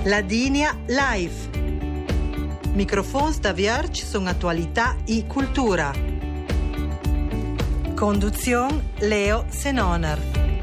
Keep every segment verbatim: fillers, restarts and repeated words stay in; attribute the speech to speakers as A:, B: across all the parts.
A: Ladinia Live. Microfons da Vierge sono attualità e cultura. Conduzione Leo Senoner.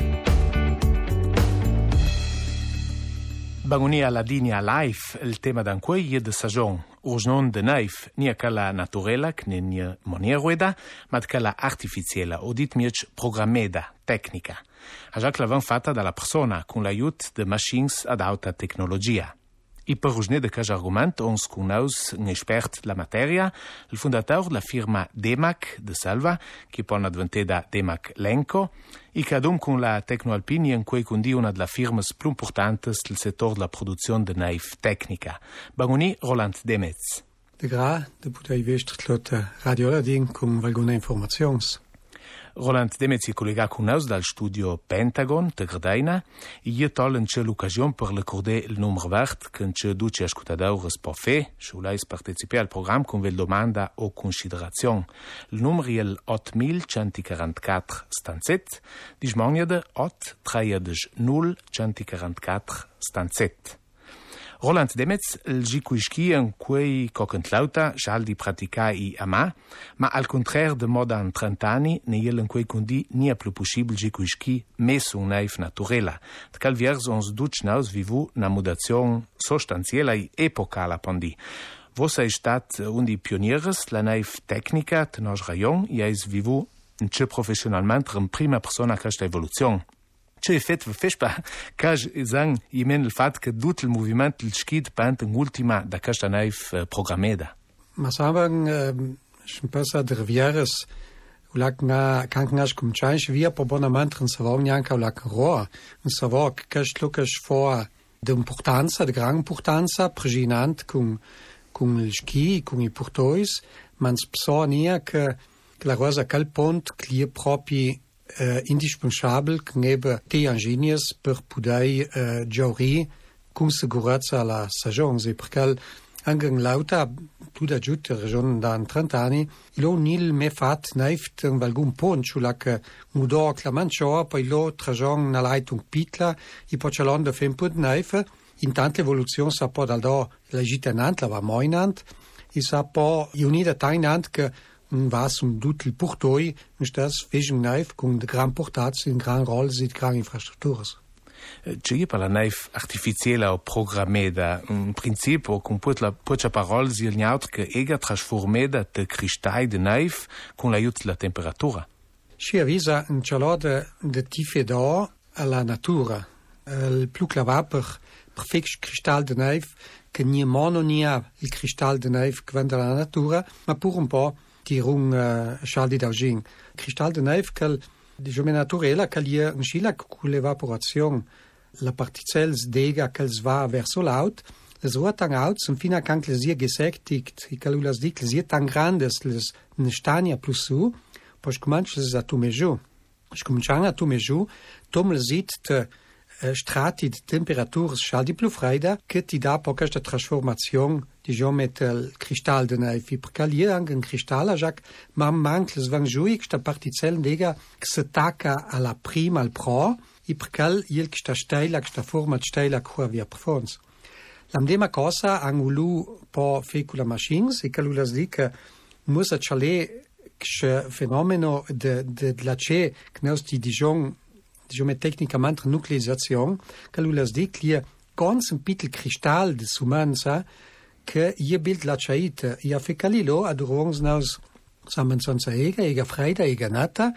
B: Bagonia Ladinia Live, il tema d'anquei de saison. Us non de naif, nia cala naturela, che nia monierueda, ma cala artificiela, o dit miec programmeda, tecnica. A già clavan fatta dalla persona, con l'aiut de machines ad alta tecnologia. I per usne de cas argument ons cunaus un expert la materia, il fondateur de la firma Demac de Salva, che pon adventeda Demac Lenco, i che adum con la Tecnoalpini in cui condi una delle firmas più importantes del settore della produzione de naif tecnica. Bagoni Roland Demetz.
C: De gra, de putei vestert Radio Ladin con valguna informations.
B: Roland Demetz è collegato con noi dal studio Pentagon de Gradaina e io tolen c'è l'occasione per ricordare il numero vert che c'è duce ascoltatori può fare, se volete partecipare al programma con vel domanda o considerazione. Il numero è il otto centoquarantaquattro stanzet, di smagnade otto tredici null centoquarantaquattro stanzet. Roland Demetz, il gicuischi in cui cocontlauta schal di praticai ama, ma al contraire de modan trent'anni, ne il in cui condi nia più possibile gicuischi messo un naif naturela. De calviers ons duc naus vivu na mudazione sostanziela e epocala pondi. Vos sei stat un di pionieres la naif tecnica de nos rayon e eis vivu in ce professionalmente in prima persona questa evoluzione. C'è effetto fespa che zang imen il fatto che tutto il movimento il skid pant in ultima da questa naif programmeda.
C: Ma saben schon besser der vieres ulak na kankenas kum change wir po bonament in savon yanka ulak roa in savok cash lukas for de importanza de gran importanza preginant cum cum il ski cum i portois mans psonia che la rosa calpont clie propi Uh, indispensabel nebe te ingeniers per pudei uh, giauri con sicurezza la stagione perché anche in lauta più da giù la regione da trent'anni lo nil me fat neift in valgun pont sulla che mudò clamancio poi lo tragion na leitung pitla i poccialon da fem put neif in tante evoluzione sa po dal do la gitanant la va moinant i sa po unida tainant che was um dut il portoi, mis das vision naif con de gran portats in gran rol sit gran infrastructuras.
B: C'è per la naif artificiella o programmeda, in principio con put la pocha parol si il naut che ega trasformeda de cristai de naif con l'aiut la temperatura.
C: Si avvisa un cialode de tife d'or alla natura. Il più clava per per fix cristal de naif che ni mono ni il cristal de naif che vende la natura, ma pur un po' die rung uh, schaldi d'augin. Cristal de naif cal di jome naturela cal ie un schila cu l'evaporazion la particels dega cal va verso l'aut, les ruat tan out zum fina can clesier gesägtigt, i cal ulas di clesier tan grandes les ne stania plus su, pos comanch les a tumeju. Ich comincian a tumeju, tom le sit te uh, strati de temperatures schaldi plus freida, che ti da po questa trasformazione diciamo met il cristal de naif perché lì anche un cristallo già ma manca le svangui questa particella dega che si attacca alla prima al pro e perché il questa stella questa forma stella che via performance la medesima cosa angulu po fecula machines e che lui las dica muss chale che fenomeno de de la che knaus di dijon diciamo tecnicamente nuclearizzazione che lui las dica lì ganz un piccolo cristallo de sumanza che je bild la chaita ja fecalilo adurons naus samensonza ega ega freida ega nata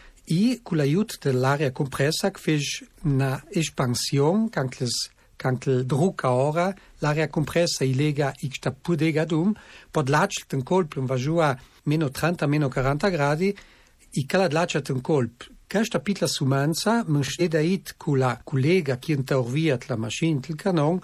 C: i con l'aiut dell'aria compressa che fece una espansione cancles cancle drucca ora l'aria compressa i lega ixta pudega dum pod lacet un colp un vajua meno trenta meno quaranta gradi i calad lacet un colp questa pitla sumanza men stedait con la collega che interviat la machine il canon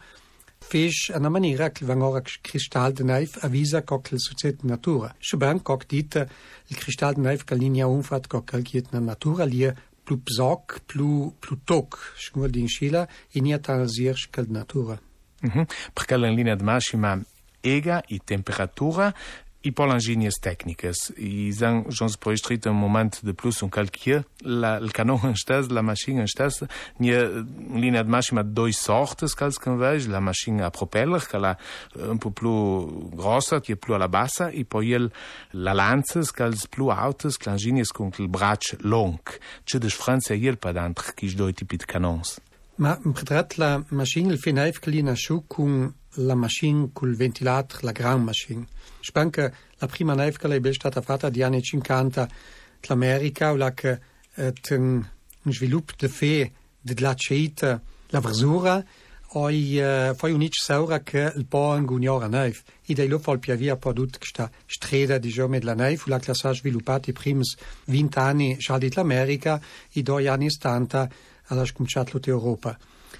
C: fece una maniera che vangora cristal de naif avvisa che la società natura. Schuban che dite il cristal de naif che linea umfat che calchiet na natura lì più psoc, più più toc, schmur di inschila e nie tanzir che natura.
B: Mhm. Perché la linea de massima ega e temperatura I pol enginyers tècniques. I zang jons poestrit un moment de plus un calquier. La, il canon en stes, la machine en stes, nie linea de maschima doi sortes cals can veig, la machine a propeller, che la un po' più grossa, che è più alla bassa, e poi il, la lanzas, cals più autes, l'enginyers con il brac long. C'è des Franza iel padant, chi doi tipi de canons.
C: Ma pretrat la machine il fenaif che li nasciu con la machine col ventilator, la gran machine. Je pense que la prima nave che è stata fatta negli anni cinquanta l'America, la che eh, un sviluppo di fe della ceita la versura, poi eh, poi unic saura che il po' in gugnora nave. I dei lo fol piavia prodotto questa strada di giorni della nave, la che si è sviluppata i primi venti anni già dell'America, i due anni settanta alla scominciato l'Europa.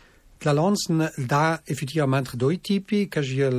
C: La Lanzen da effettivamente due tipi, che è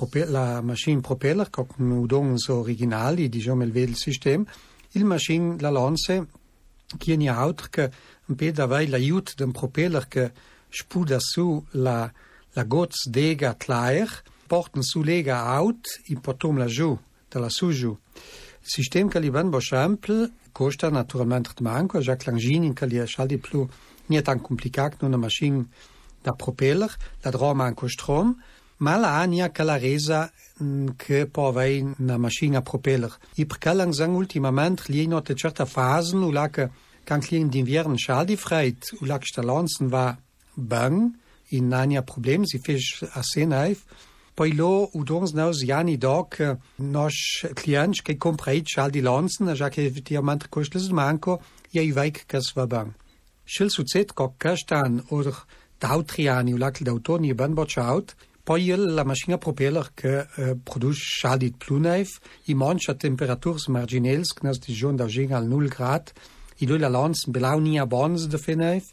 C: la machine propeller, con udons originali, diciamo il vero sistema, il machine la Lanze, che è altro che un po' davai l'aiuto del propeller che spuda su la, la gozza d'ega clair, porta su lega out e potom la giù, dalla su giù. Il sistema che li ben bo semple, costa naturalmente manco, già che l'engine che li è di più, non è tan complicato, una machine da propeller, la droma anche strom, ma la ania che la resa che può avere una macchina a propeller. I perché langsam ultimamente li in una certa fase, u la che kan klien d'inverno schaldi freit, u la che sta lanzen va bang, in ania problem, si fisch a senaif, poi lo u dons naus jani doc nos clients che compreit schaldi lanzen, già che effettivamente costes manco, ja i veik kas va bang. Schil su zet kok kastan oder d'autriani u lac d'autoni ben bocciaut, poi la macchina propeller che eh, produce schaldi pluneif, i mancha temperaturs marginels, che nas di giorn d'augen al null grad, i due la lanzen belau nia bons de feneif,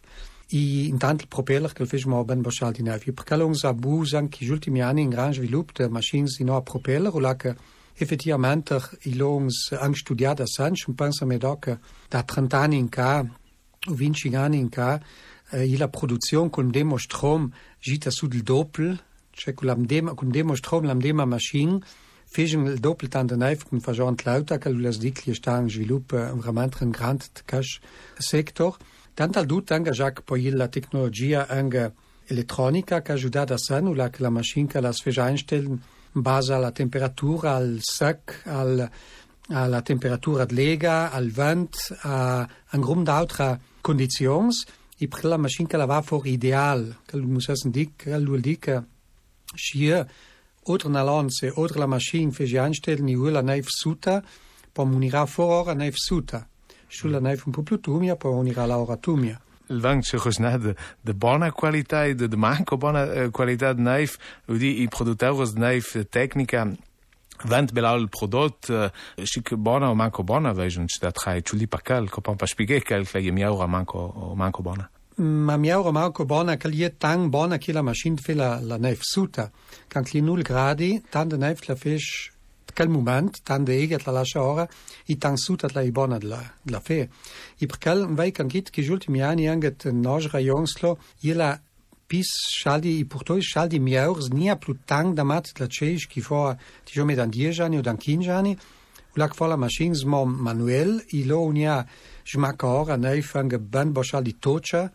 C: i intant il propeller che il fece mo ben boccialdi neif. I perché longs a busan che gli ultimi anni in gran svilup de machines di no propeller, u lac effettivamente i longs han studiat a Sanch, un pensa me doc da trenta anni in ca, o venti anni in ca, eh, la produzione con demo strom gita su del doppel, cioè con demo, con demo strom la demo machine fece il doppel tan de neif con fagent lauta che las dic li sta in sviluppo veramente un grand cash sector. Tant al dut anche già poi la tecnologia anche elettronica che aiuta a san, la che la machine che la fece einstellen in base alla temperatura, al sec, al alla temperatura de lega, al vent, a un grum d'altra conditions. I per la machine che la va for ideal, che lu musessen dic, che lu dic, schier, oder na lance, oder la machine fece einstellen, ni la neif suta, po munira for ora neif suta. Sulla neif un po' più tumia, po munira la ora tumia.
B: Il vang c'è così de, de buona qualità e de, de manco buona eh, qualità de neif, udi i produttori de neif tecnica, vent belau il prodotto, eh, chic buona o manco buona, vejo un città tra i ciuli per cal, che poi spiegare che la miaura manco o manco buona.
C: Ma miaura manco buona, che li è tan buona che la machine fa la, la neif suta. Can li null gradi, tan de neif la fece quel moment, tan de eget la lascia ora, i tan suta la i buona de la, de la fe. I per quel vai can git che gli ultimi anni anche nos rajonslo, la pis schaldi i portoi schaldi miaurs nia più tan da mat la ceisch che fa diciamo dan dieci anni o dan quindici anni. La che fa la machine mo manuel, i lo unia smacca ora neif anche ben boschaldi toccia,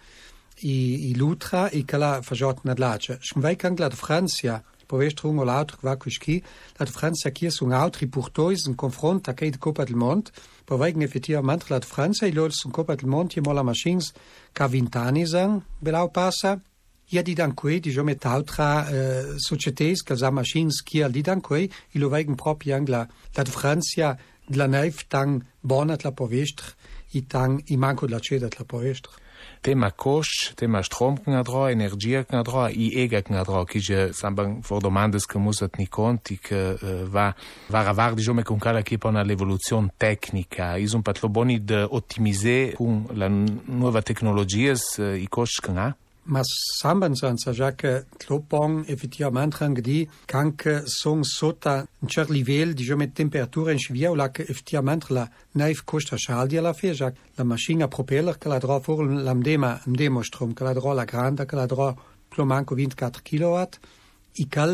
C: i, i lutra, i che la fajot nad lace. Vai can la de Francia, povestrung o l'altro qua qui, la de Francia che su un altri portois in confronto a che de Coppa del Mont, poi vai effettivamente la de Francia, i lo su Coppa del Mont, i mo la machines ca vint'anni san, belau passa. Ja, die dan quei, diciamo, met altra uh, societés, che sa machines che al di dan quei, i lo veigen proprio anche la, la de Francia, la neif tang bonat la povestre, i tang i manco la cedat la povestre.
B: Tema cost, tema strom che adro, energia che adro, i ega che adro, che je samban for domandes che musat ni conti che uh, va va ravar diciamo con cala che pona l'evoluzione tecnica, i son patlo boni de ottimiser con la nuova tecnologias uh, i cost che ha.
C: Ma sambanzanza già che tlopong effettivamente anche di che sono sotto un certo livello diciamo di temperatura in scivia o la che effettivamente la neif costa scaldi alla fine già la macchina propeller che la dro for l'amdema amdemo strom che la dro la grande che la dro più manco ventiquattro kilowatt i cal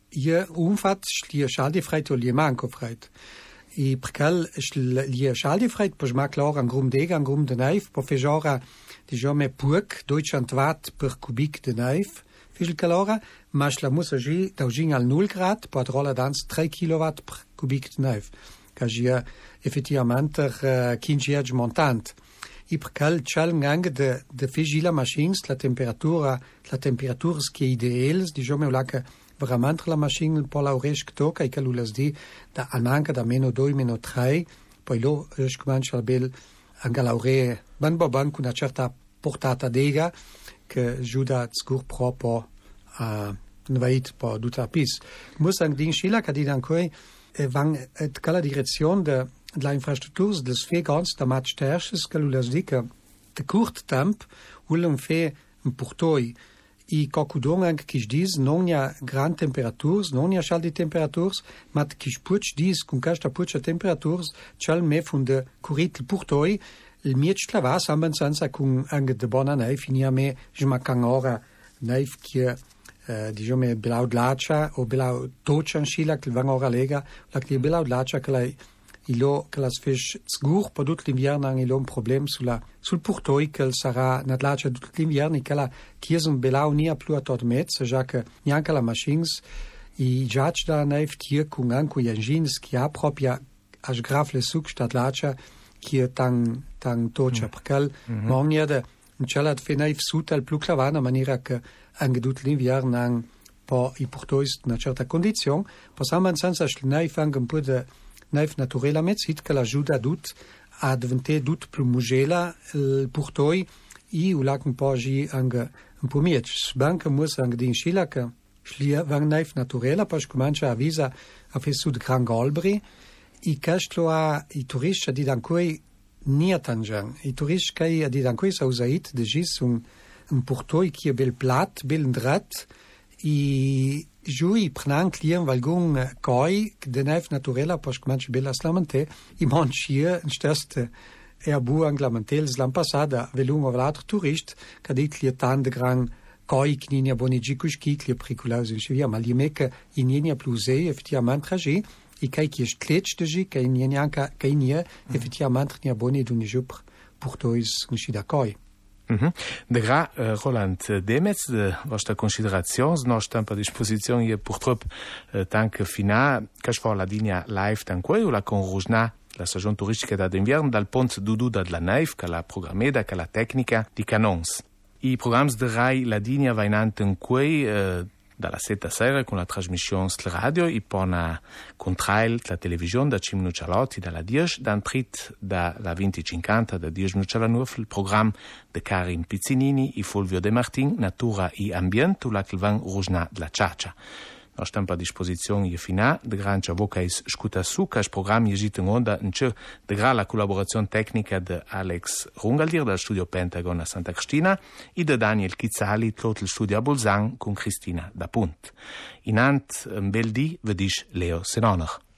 C: je umfat schlie schaldefreit o lie manco freit. I perché lie schaldefreit po sma clar an grum dega an grum de neif po fejora diciamo puc duecento watt per cubic de neif fischel calora, ma la musagi daugin al null grad po rolla dans tre kilowatt per cubic de neif. Ca je effettivamente uh, quinze montant. I perché c'è anche de de figila machines la temperatura la temperatura che ideals diciamo la che veramente la macchina po la riesce tocca e che lui di da anche da meno due meno tre poi lo riesce comincia bel anche l'aure ban ban con una certa portata dega che giuda sicur proprio a invait po tutta pis muss anche din schila che di ancora van et cala direzione de la infrastructures des fegans da mat sterches che lui di che de curt temp ulum fe un portoi i cocudong che dis non ha gran temperatures non ha schaldi temperatures mat che puch dis con casta pucha temperatures chal me fun de curit il portoi il miech clavas amben senza con anche de bona nei finia me jma cangora nei che Uh, diciamo belau dlacia o belau tochan schila che van ora lega la che belau dlacia che lei ilo che la sfish sgur po tut l'inverno ang ilo un problem sulla sul portoi che sarà na dlacia tut l'inverno che la chiesen belau nia plu a tot mezzo già che neanche la machines i judge da naif tier con anche gli engines che ha proprio a grafle suc sta dlacia che tan tan tocha mm. perché mm-hmm. mogna de C'è fe naif suta plu clavana maniera che anche tut l'inverno ang po i portois una certa condizione possiamo senza naif anche un po' de naif naturela mezzit che l'aiuta tut a diventare tut più mugela il portoi i u lac un po' gi anche un po' miec banca muss anche din schila che schlia van naif naturela pas comincia a visa a fe sud gran golbri i castlo a i turisti di dancoi nia tangian. I turisti che a di dancoi sa usait de gis un un portoi qui è bel plat, bel drat i giui prenant clien valgun coi de naif naturela pas comincia bella slamante i manchia in steste er bu anglamentels l'an passada velung of l'altro turist che dit li tan de gran coi kninia bonigicus chi li priculaus in chivia ma li mecca in nienia plusei effettivamente tragi i kai qui stletch de gi kai nienia anca kai nia effettivamente nia boni d'un jup portois in chida coi.
B: Mm-hmm. De gra, uh, Roland Demetz, de vostra considerazione, no stampa a disposizione io purtroppo uh, tanto fina, che fa la linea live tanque o la con Rujna, la stagione turistica d'inverno dal ponte Dudu da la Naif, che la programmeda, che la tecnica di Canons. I programmi de Rai la linea va in antanque uh, dalla setta sera con la trasmissione sul radio e poi una contrail la televisione da cinque minuti all'otto dalla dieci dan trit dalla venti cinquanta da dieci minuti alla nove il programma di Karin Pizzinini e Fulvio De Martin Natura e Ambiente la che van Rujna la Ciaccia. No stampa a disposizione e fina de gran vocais scuta su che il programma esiste in onda in c'è de gran la collaborazione tecnica di Alex Rungaldir dal studio Pentagon a Santa Cristina e di Daniel Chizzali tot il studio a Bolzan con Cristina da Punt. In ant un bel di vedis Leo Senoner.